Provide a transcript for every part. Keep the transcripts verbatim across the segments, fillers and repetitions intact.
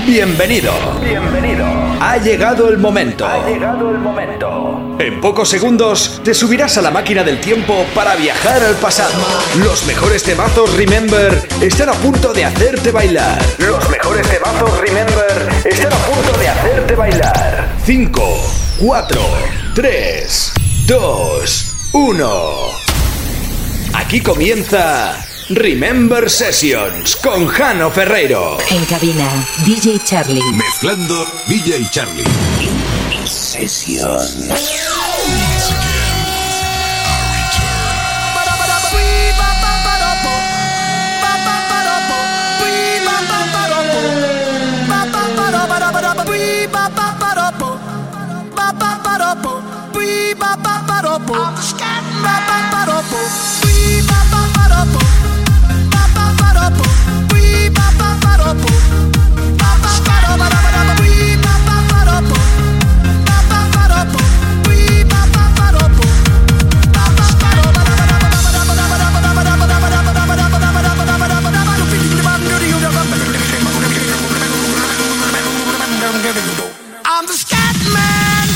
Bienvenido. Bienvenido. Ha llegado el momento. Ha llegado el momento. En pocos segundos te subirás a la máquina del tiempo para viajar al pasado. Los mejores temazos Remember están a punto de hacerte bailar. Los mejores temazos Remember están a punto de hacerte bailar. cinco, cuatro, tres, dos, uno. Aquí comienza Remember Sessions con Jano Ferreiro. En cabina, D J Charlie. Mezclando D J Charlie. Sessions. I'm the scat man.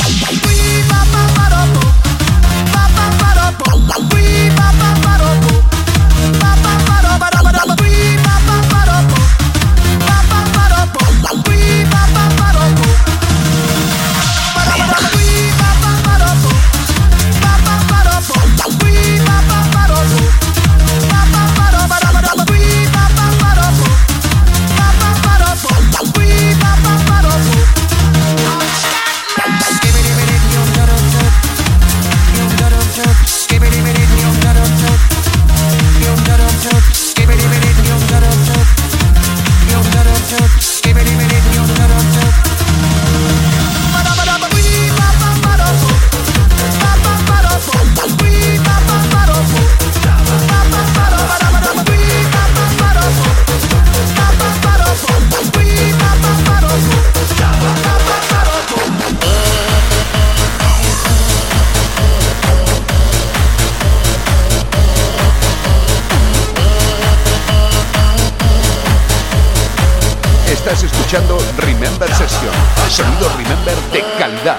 Estás escuchando Remember Session, sonido Remember de calidad.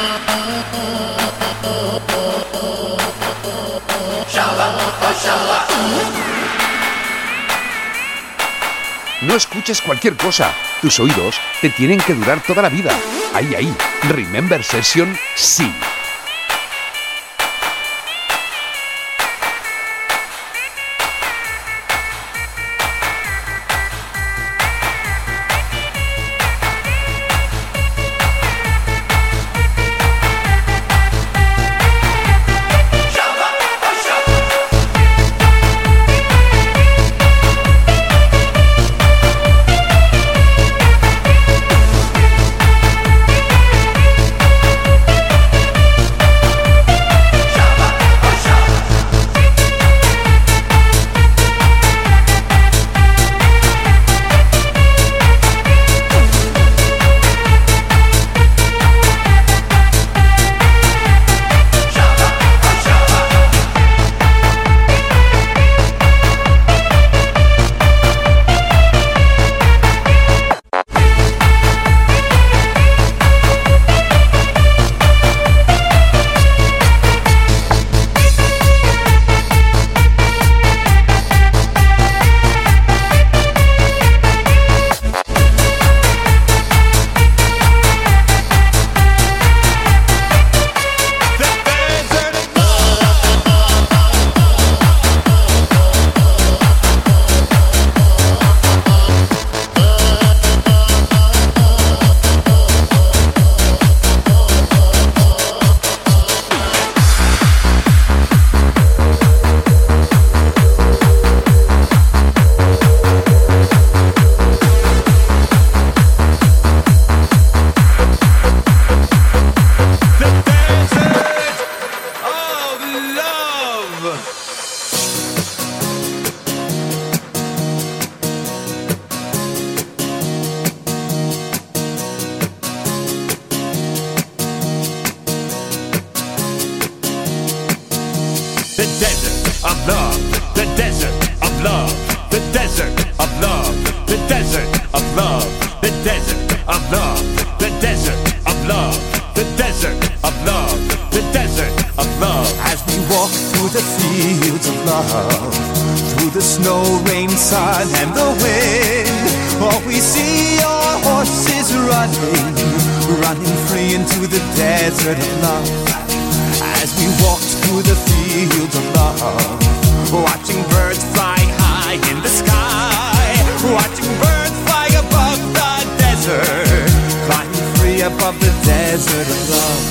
No escuches cualquier cosa, tus oídos te tienen que durar toda la vida. Ahí, ahí, Remember Session, sí. love. Through the snow, rain, sun, and the wind, oh, we see your horses running, running free into the desert of love. As we walked through the fields of love, watching birds fly high in the sky, watching birds fly above the desert, flying free above the desert of love.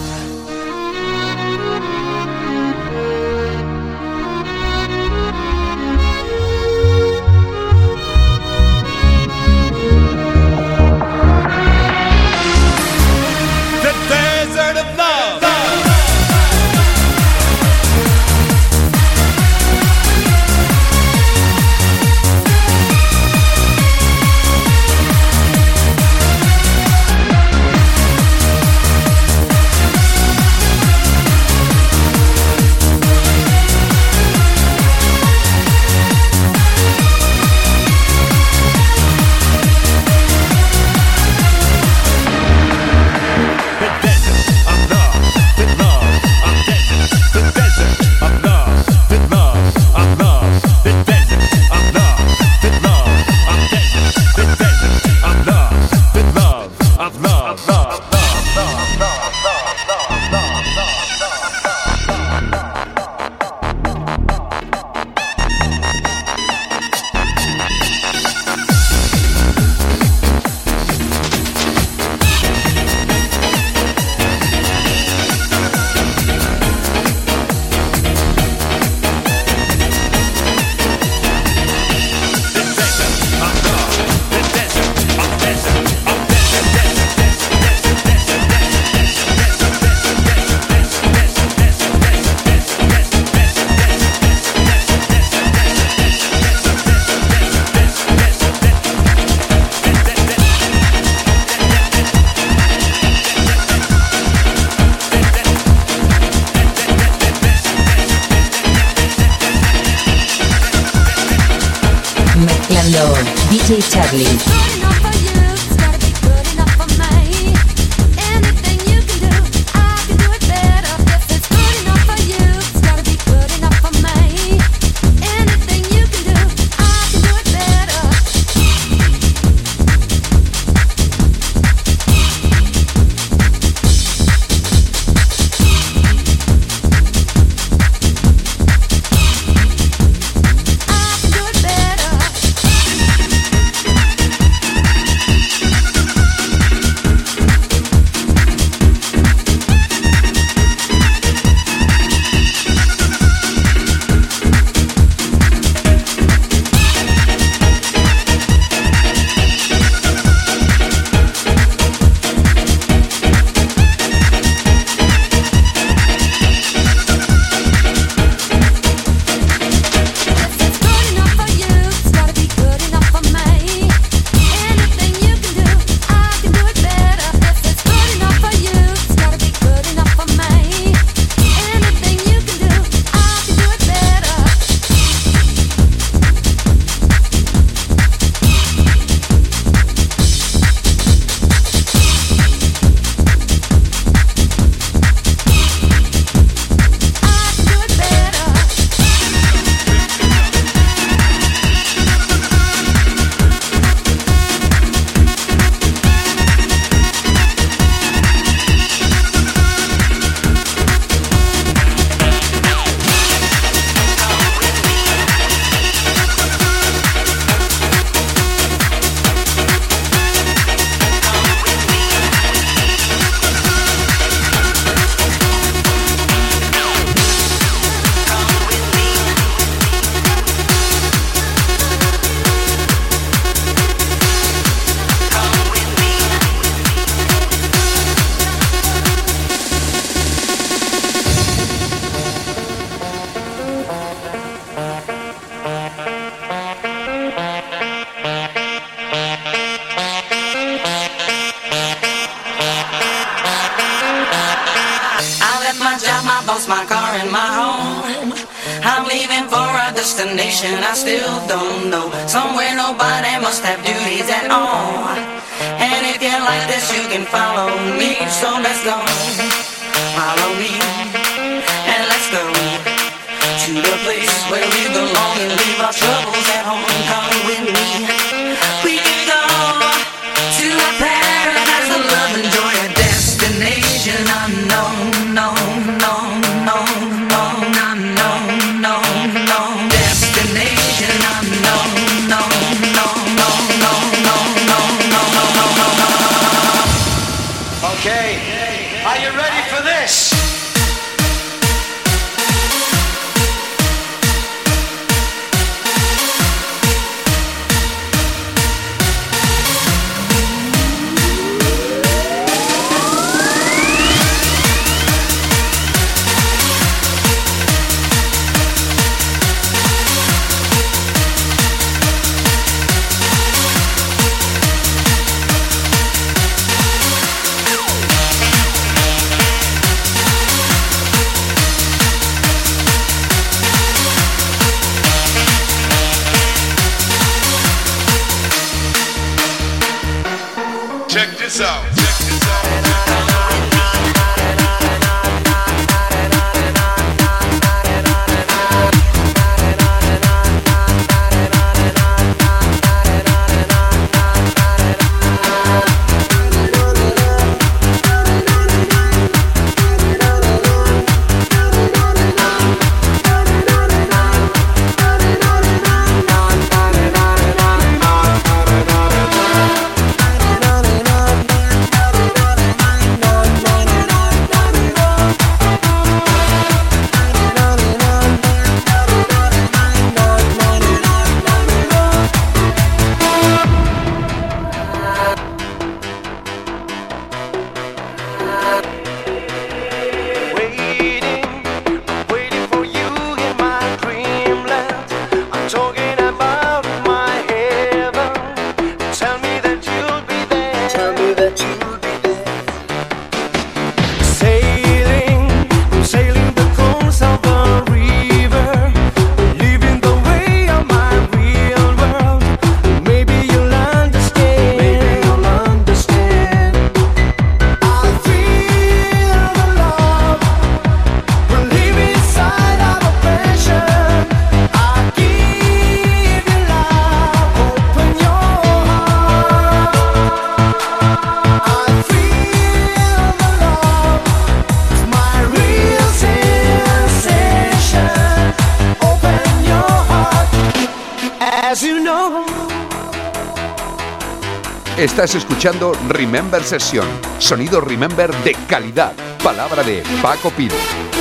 D J Charlie. Destination I still don't know. Somewhere nobody must have duties at all. And if you like this, you can follow me. So let's go, follow me, and let's go to the place where we belong and leave our troubles at home. Come with me. We can go to a paradise of love and joy, a destination unknown, no, no, no, no, no, no, no, destination unknown, no, no, no, no, no, no, no, no, no, no. Okay, are you ready for this? Check this out. Check this out. Estás escuchando Remember Session, sonido Remember de calidad, palabra de Paco Pil.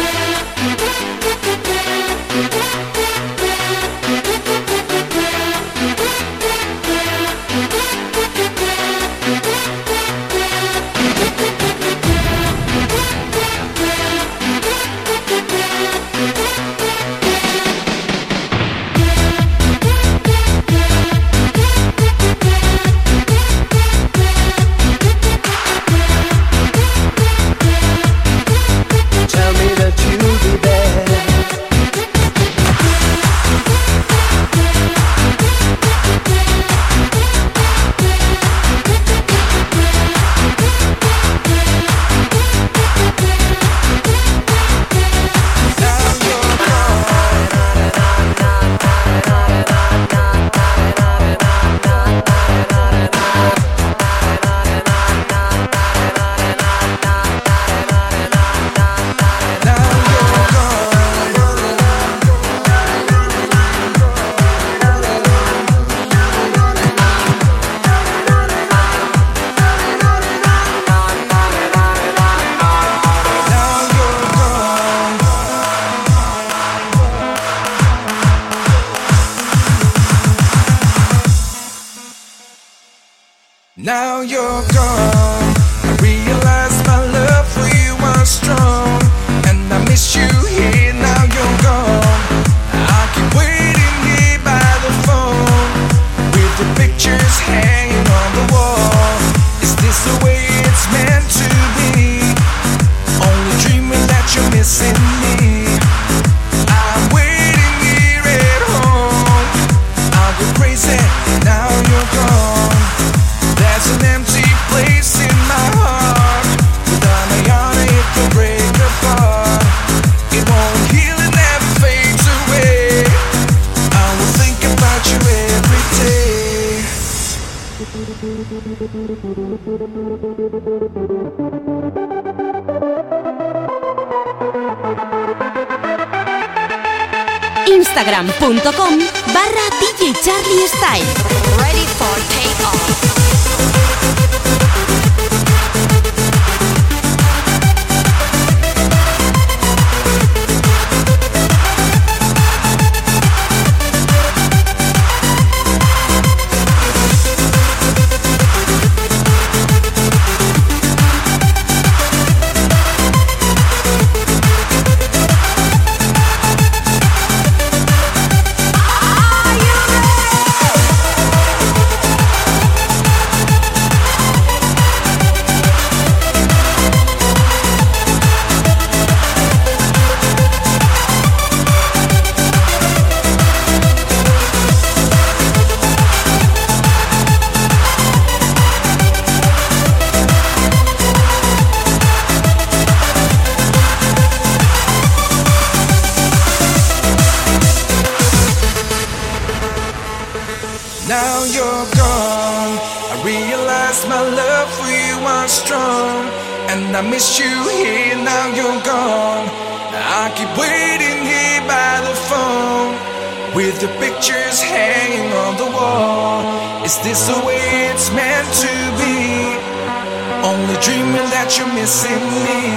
Now you're gone. I realize my love for you was strong, and I miss you here. Now you're gone. I keep waiting here by the phone, with the pictures hanging on the wall. Is this the way it's meant to be? Only dreaming that you're missing me. I'm waiting here at home. I'll go crazy. Now you're gone. There's an empty place in my heart. Without a yarn, it will break apart. It won't heal and never fades away. Instagram punto com barra D J Charlie Style. Ready for take off. Now you're gone. I realize my love for you was strong, and I miss you here. Now you're gone. I keep waiting here by the phone, with the pictures hanging on the wall. Is this the way it's meant to be? Only dreaming that you're missing me.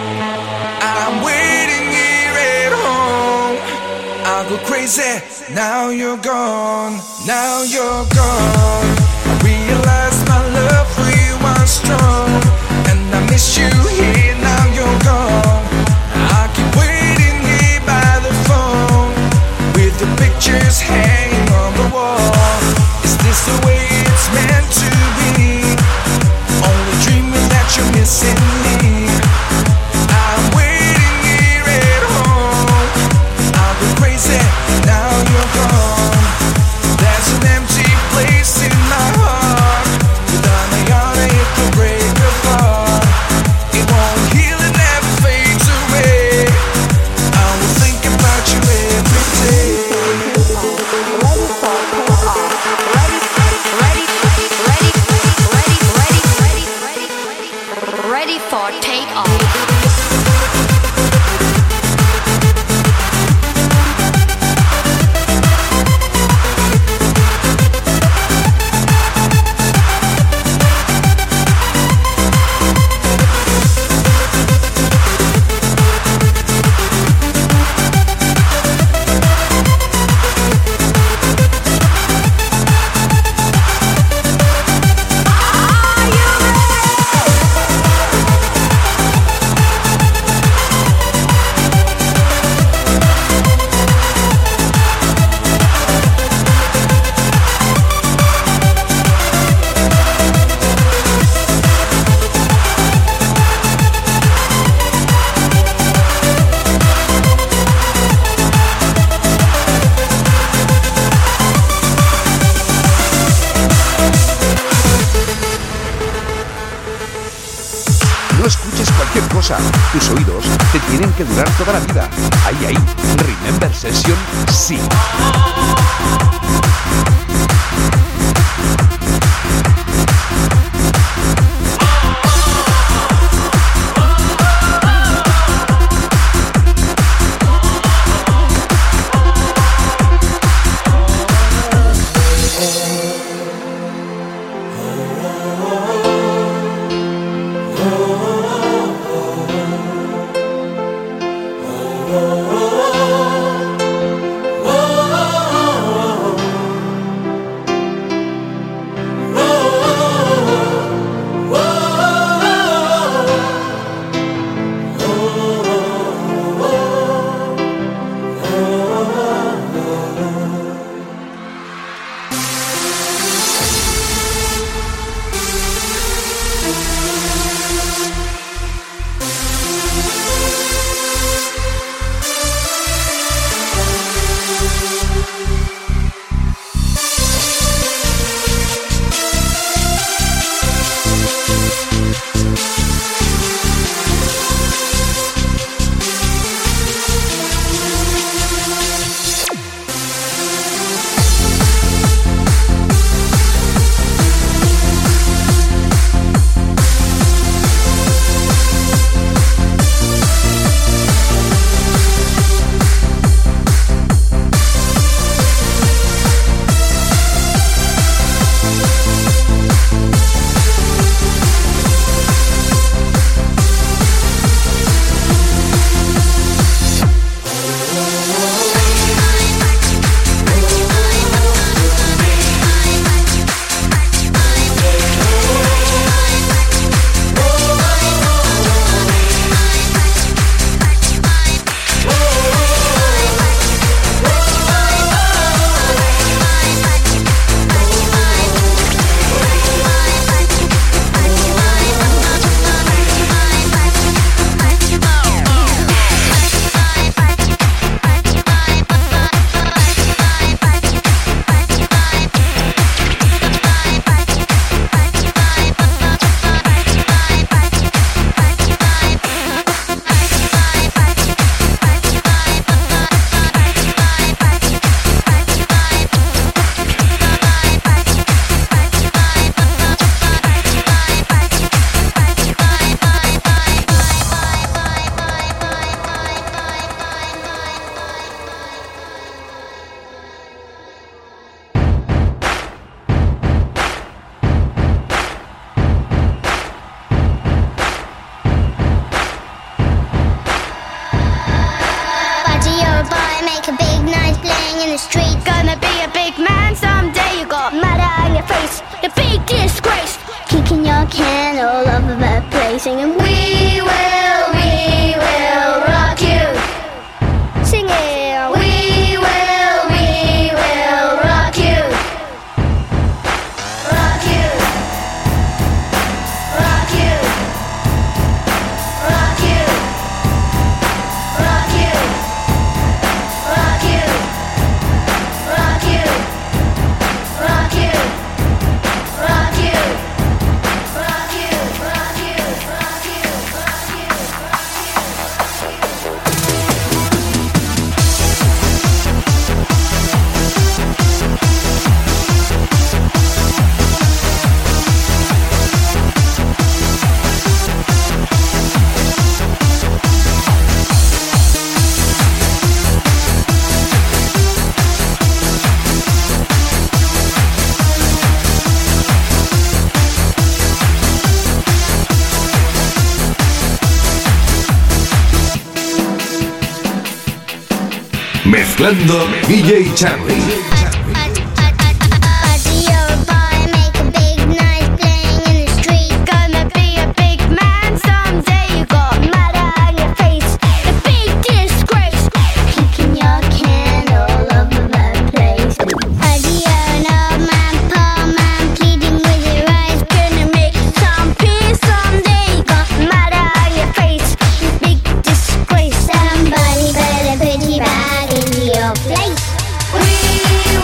I'm waiting here at home. I'll go crazy. Now you're gone. Now you're gone. I realize my love for you was strong, and I miss you here. Now you're gone. I keep waiting here by the phone, with the pictures hanging on the wall. Is this the way it's meant to be? Only dreaming that you're missing me. I'm waiting here at home. I'll go crazy. Now you're gone. There's an empty place in my heart, without a yarn it could break apart. It won't heal and never fades away. I will think about you every day. Ready for take off. Ready, ready, ready, ready, ready, ready, ready, ready, ready for take off. No escuches cualquier cosa. Tus oídos te tienen que durar toda la vida. Ahí, ahí. Remember Session, sí. Oh, kicking your can all over the place, singing, we will, we will rock you. Sing it, we will, we will rock you. Rock you. Rock you. Rock you. Rock you. Rock you. Rock you. Rock you. Rock you. Rock you. Rock you. Rock you. Rock you. Mezclando D J Charlie. Somebody better put your bag in your place. We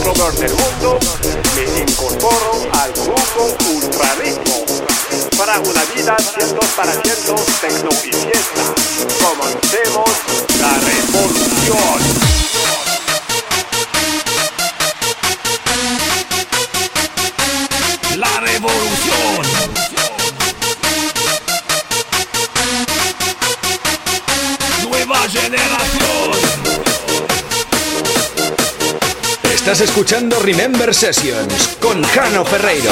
Robert del mundo, me incorporo al grupo Ultraritmo para una vida cien por ciento tecno y fiesta. Comencemos la revolución. La revolución. Nueva generación. Estás escuchando Remember Sessions con Jano Ferreiro.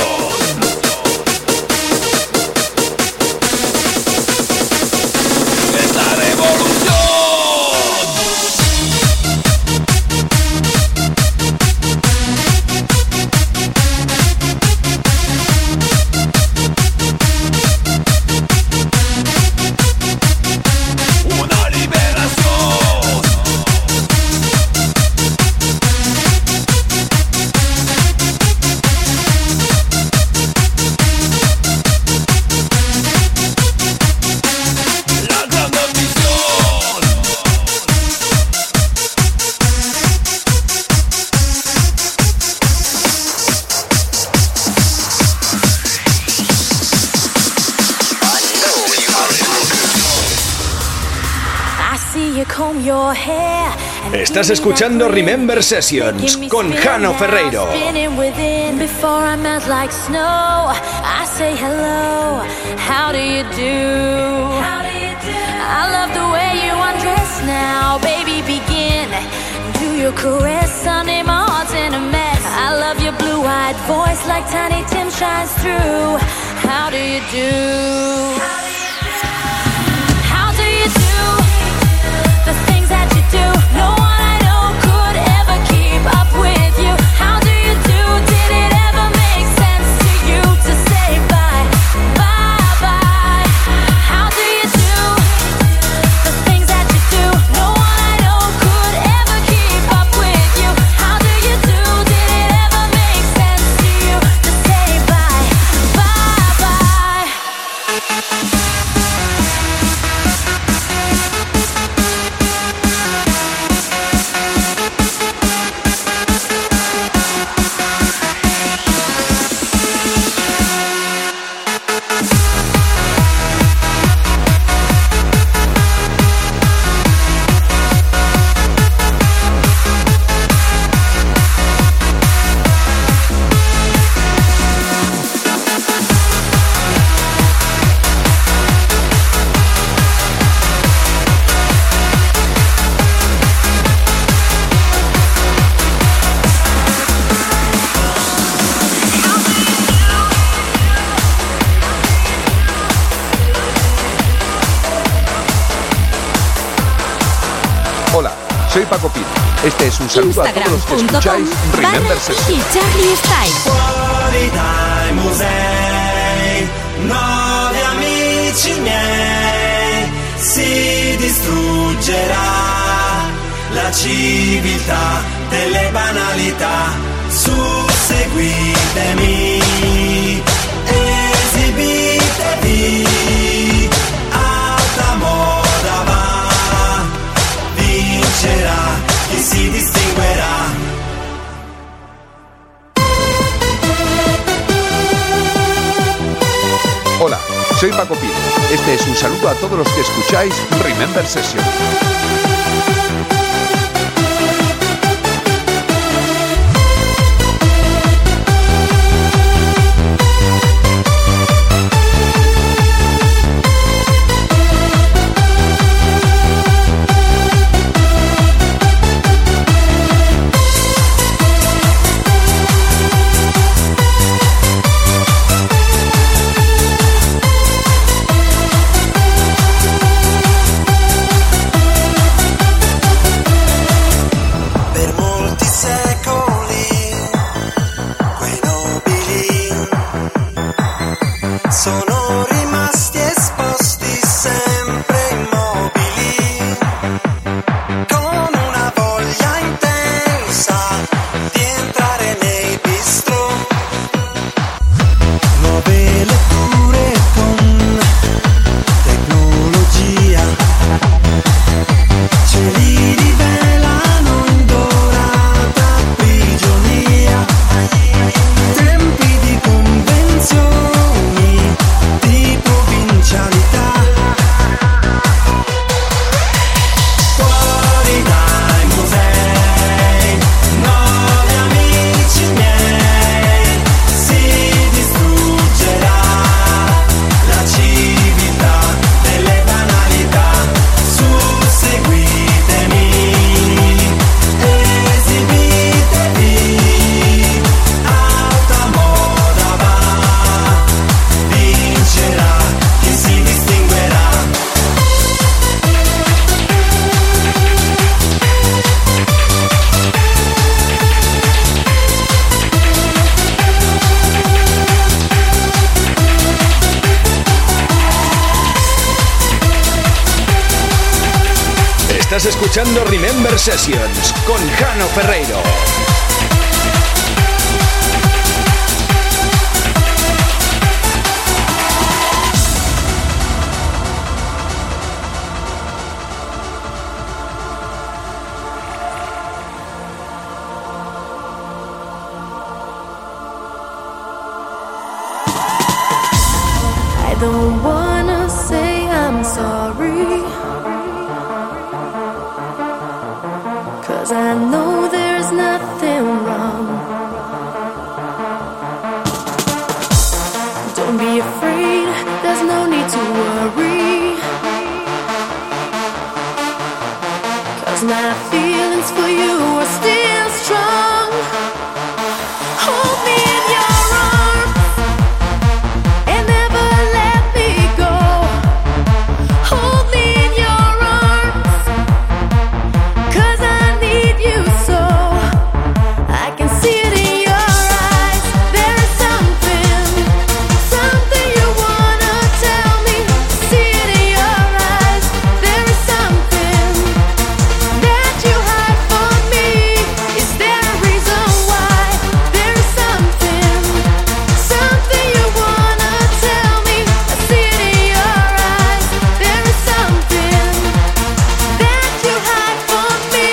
Estás escuchando Remember Sessions con Jano Ferreiro. No one I know could ever keep up with you. How do you do? Did it ever make sense to you to say bye, bye, bye? How do you do the things that you do? No one I know could ever keep up with you. How do you do? Did it ever make sense to you to say bye, bye, bye? Soy Paco Pino. Este es un saludo a todos los que escucháis Remember Sessions. Y Charlie Style. Fuori dai musei, nuovi amici miei, si distruggerà la civiltà delle banalità. Su, seguitemi, esibitevi, alta moda va, vincerà chi si distinguerà. Hola, soy Paco Pino. Este es un saludo a todos los que escucháis Remember Sessions. escuchando Remember Sessions con Jano Ferreiro. I don't wanna say I'm sorry, 'cause I know there's nothing wrong. Don't be afraid, there's no need to worry, 'cause my feelings for you are still strong. Hold me in your arms and never let me go. Hold me in your arms, 'cause I need you so. I can see it in your eyes. There is something, something you wanna tell me. See it in your eyes. There is something that you hide from me. Is there a reason why? There is something, something you wanna tell me. I see it in your eyes. There is something that you hide from me.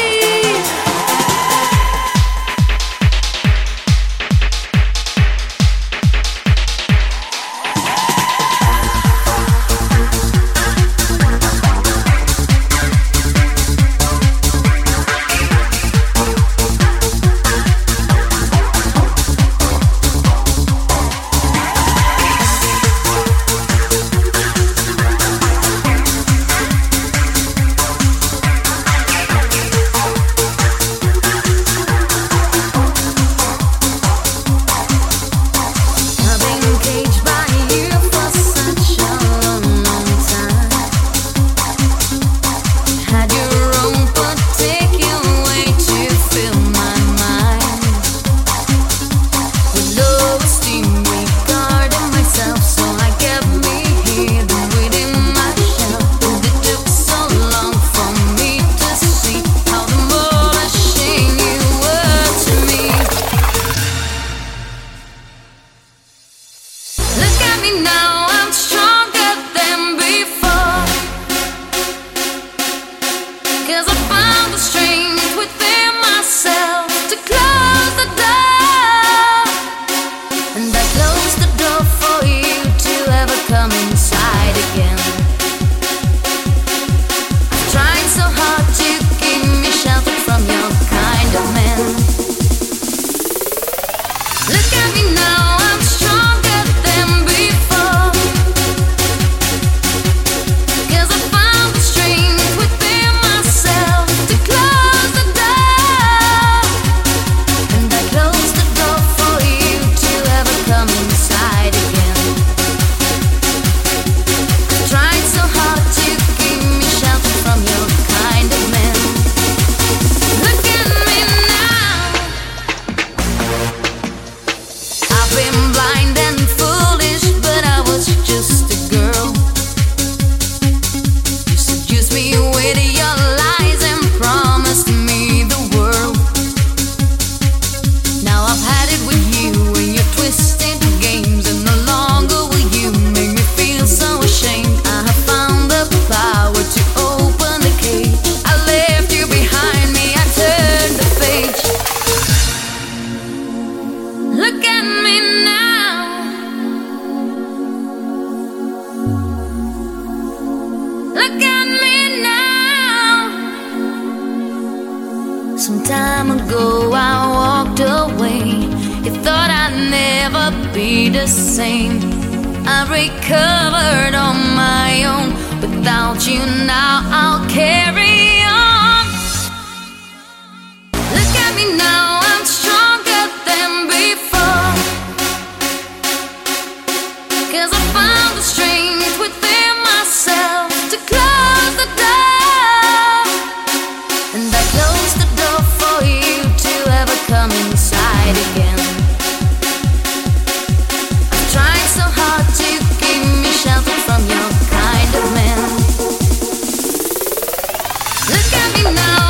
I've been caged by you for such a long, long time. Had your own particular way to fill my mind with low esteem regarding myself, so I kept me hidden within my shell. And it took so long for me to see how demolishing you were to me. Look at me now, I'm stronger than before, 'cause I found the strength within myself to close the door. And I closed the door for you to ever come inside again. I've tried so hard to keep me sheltered from your kind of man. Look at me now, I'm stronger than before, 'cause I found the strength within myself to close the door. And I closed the door for you to ever come inside again. I've tried so hard to keep me sheltered from your kind of man. Look at me now. I've been blind and foolish, but I was just a girl. You seduced me with your lies and promised me the world. Now I've had it with you and your twisted games, and no longer will you make me feel so ashamed. I have found the power to open the cage. I left you behind me, I turned the page. Look at me now. Look at me now. Some time ago I walked away. You thought I'd never be the same. I recovered on my own. Without you now I'll carry on. Look at me now, I'm stronger than before, 'cause I found the strength within myself to close the door. And I closed the door for you to ever come inside again. I've tried so hard to keep me sheltered from your kind of man. Look at me now.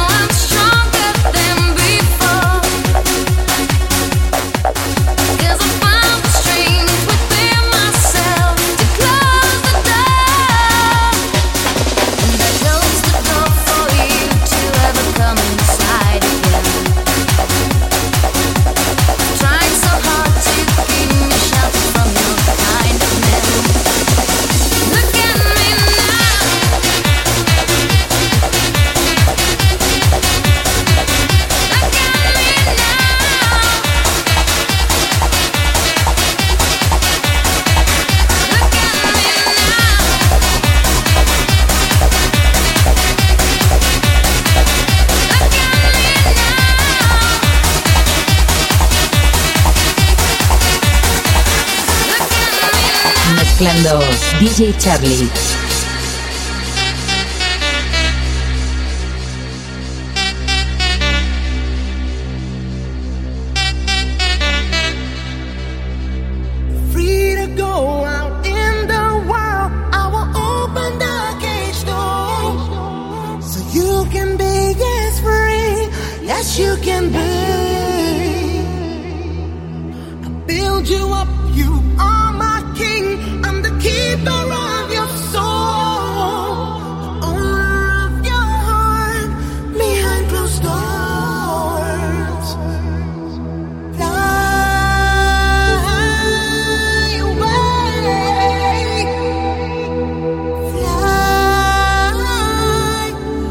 Mezclando D J Charlie. Free to go out in the wild. I will open the cage door so you can be as free as you can be. I build you up, you are my king. I'm the keeper of your soul, the owner of your heart behind closed doors. Fly away, fly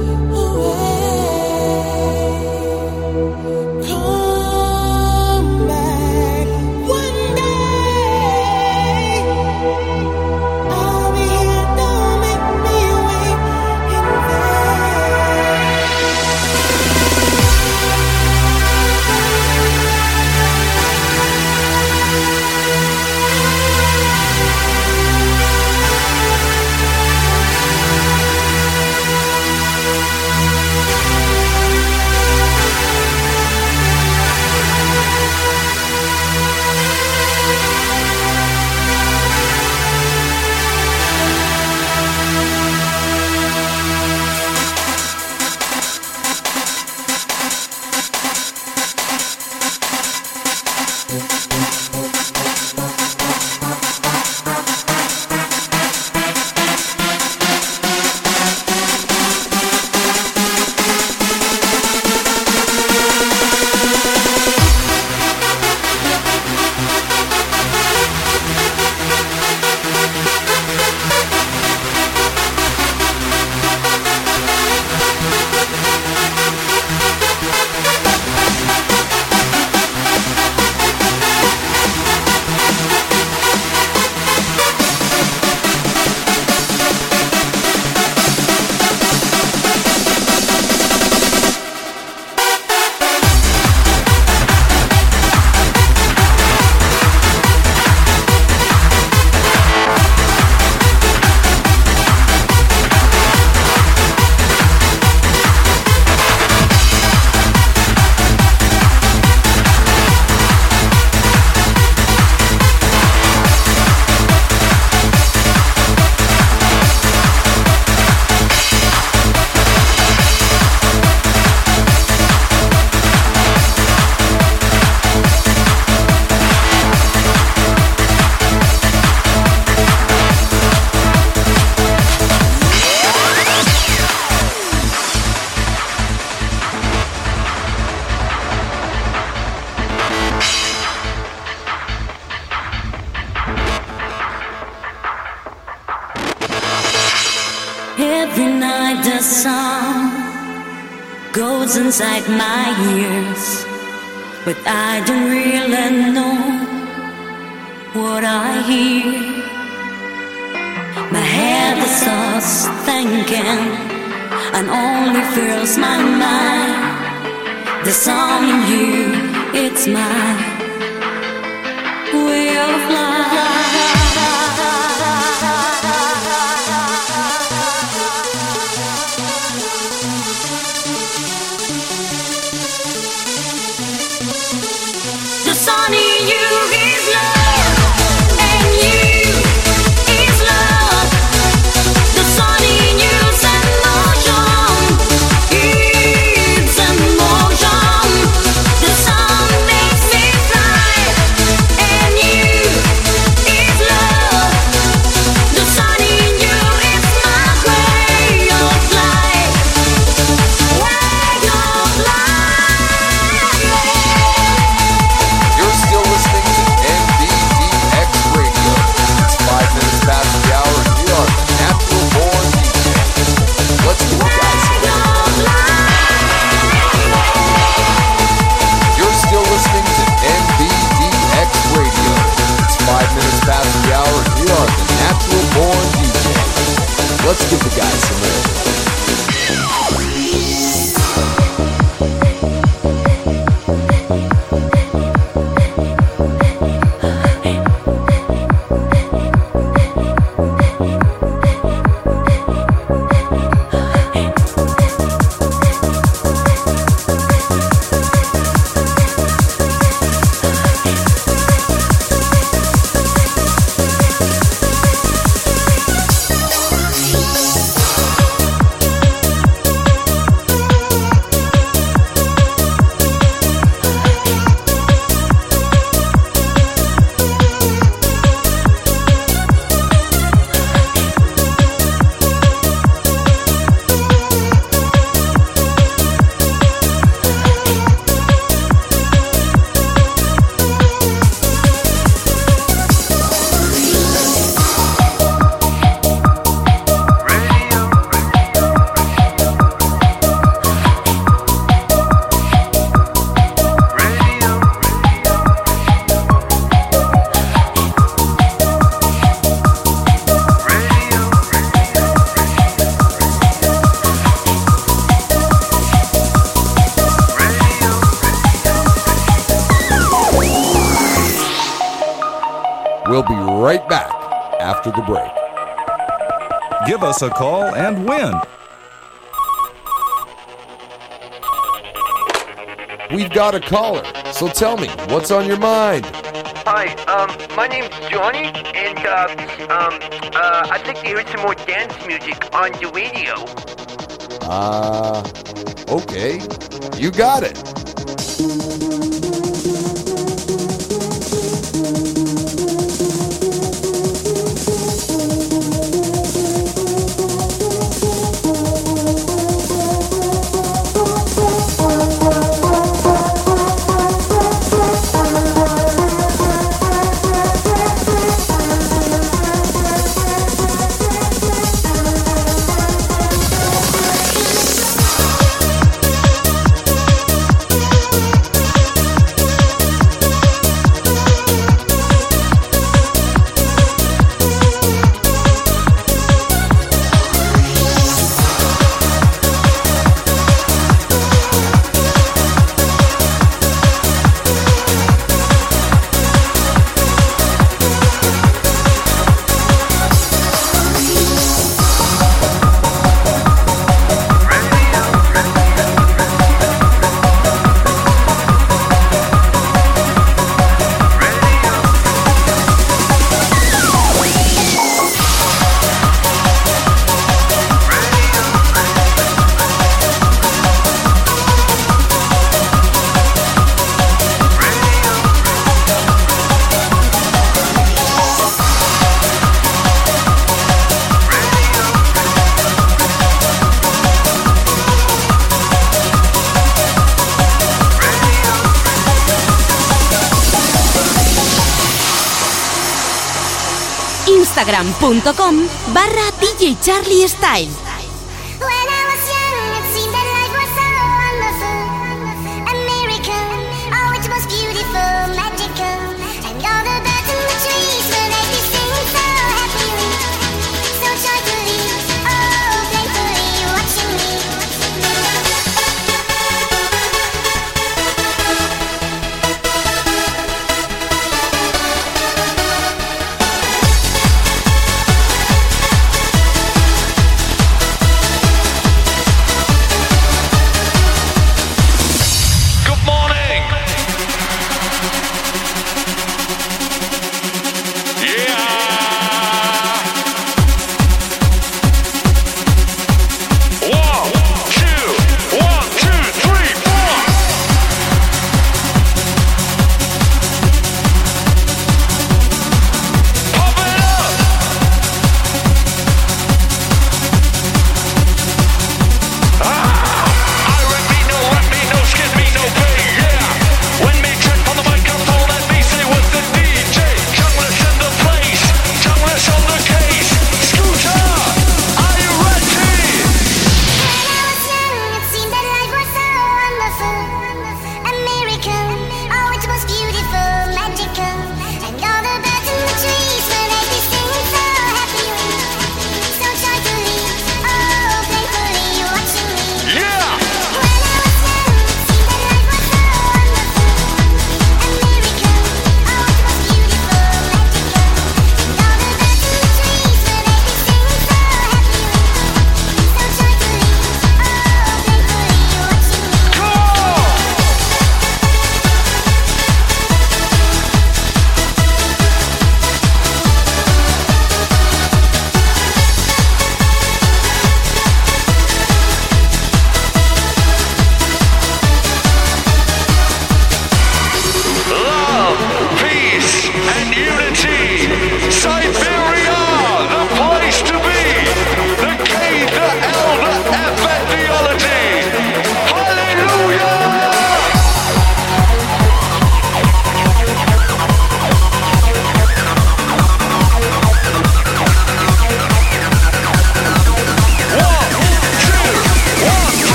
away. Come back one day. I'll be here, don't make me wait in vain. Every night the song goes inside my ears, but I don't really know what I hear. My head is just thinking and only fills my mind. The song in you, it's my way of life. The sun in you is love, and you is love. The sun in you's emotion, it's emotion. The sun makes me fly, and you We'll be right back after the break. Give us a call and win. We've got a caller, so tell me, what's on your mind? Hi, um, my name's Johnny, and, uh, um, uh, I'd like to hear some more dance music on the radio. Uh, okay. You got it. Instagram.com barra D J Charlie Style. We'll be right back.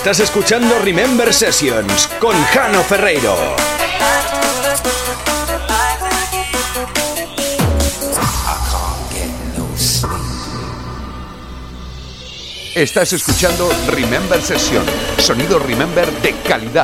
Estás escuchando Remember Sessions con Jano Ferreiro. Estás escuchando Remember Session, sonido Remember de calidad.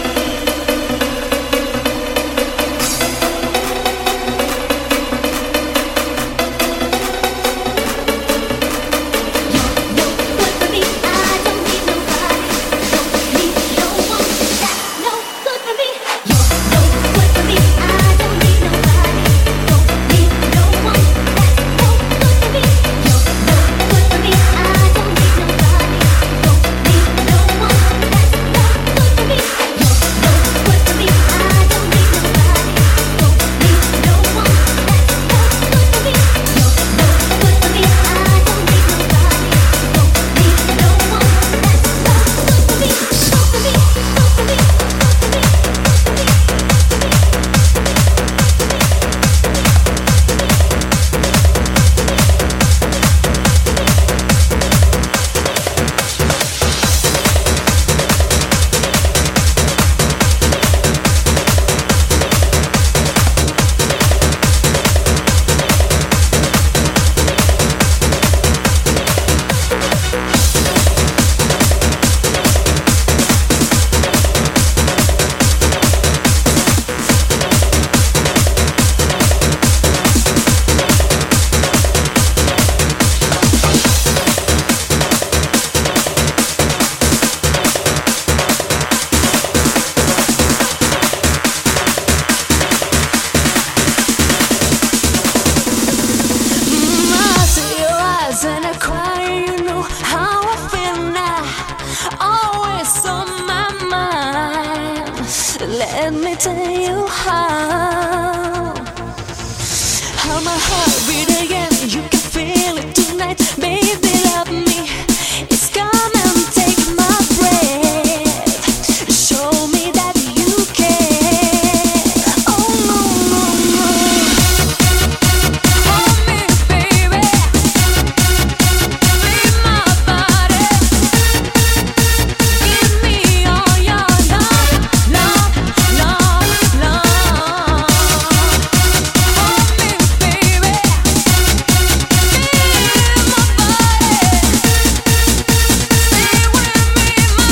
Let me tell you how. How my heart beat again. You can feel it tonight. Baby, love me. It's come and take my breath. Show me that you care. Oh no, no, no. Hold me, baby. Leave my body. Give me all your love, love, love, love. Hold me, baby. Feel my body. Stay with me, my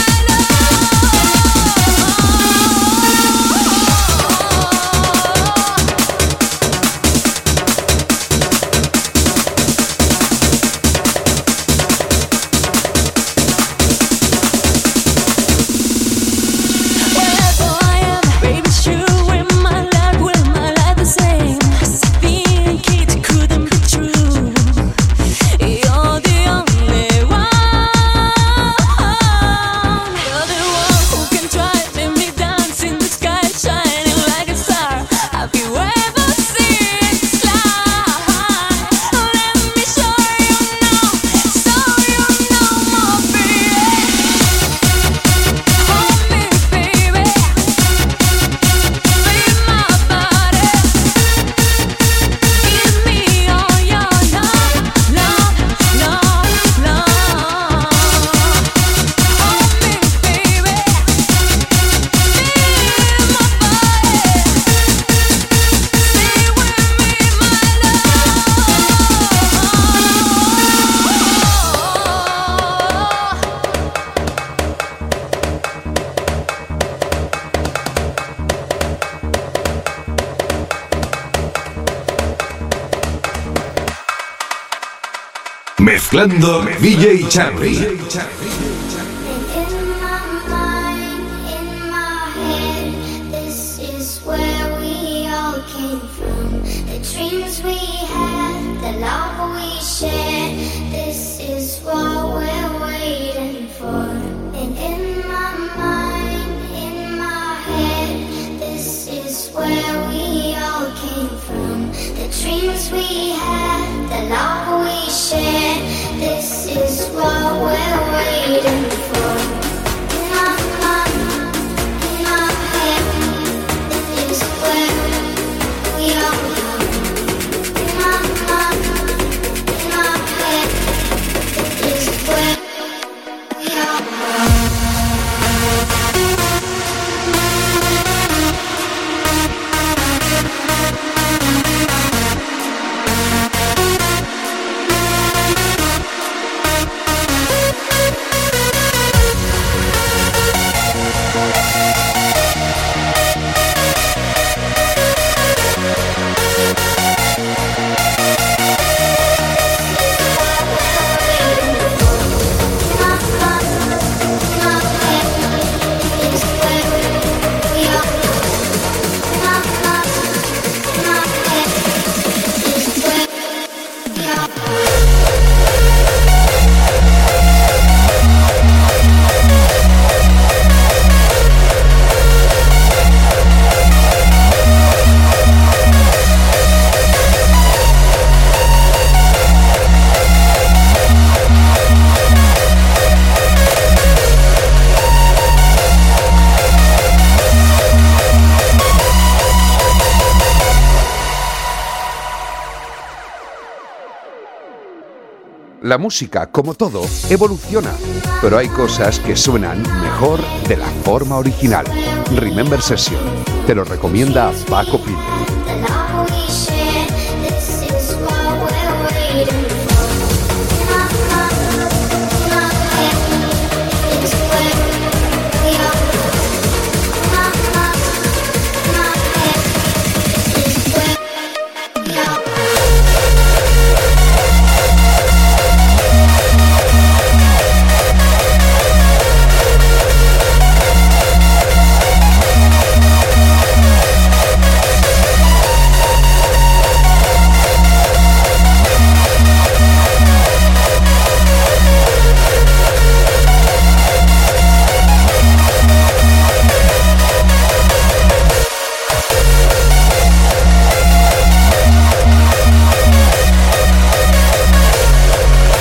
wherever I am, baby, sure in my life, will my life the same? Being kids couldn't be true. You're the only one. You're the one who can drive me dance in the sky, shining like a star. Have you ever seen it fly? Let me show you now, so you know my baby. Hold me, baby. Leave my body. Give me all your love, love, love, love. Hold me, baby. Feel my body. Stay with me, my Mezclando D J Charlie. In my mind, in my head, this is where we all came from. The dreams we had, the love we shared, this is what we're waiting for. And in my mind, in my head, this is where we all came from. The dreams we had, the love we shared, this is what we're waiting for. In my mind, in my head, this is where we all come. In my mind, in my head, this is where we all come. La música, como todo, evoluciona, pero hay cosas que suenan mejor de la forma original. Remember Session, te lo recomienda Paco Pil.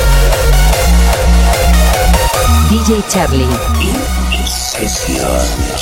D J Charlie. In sesión.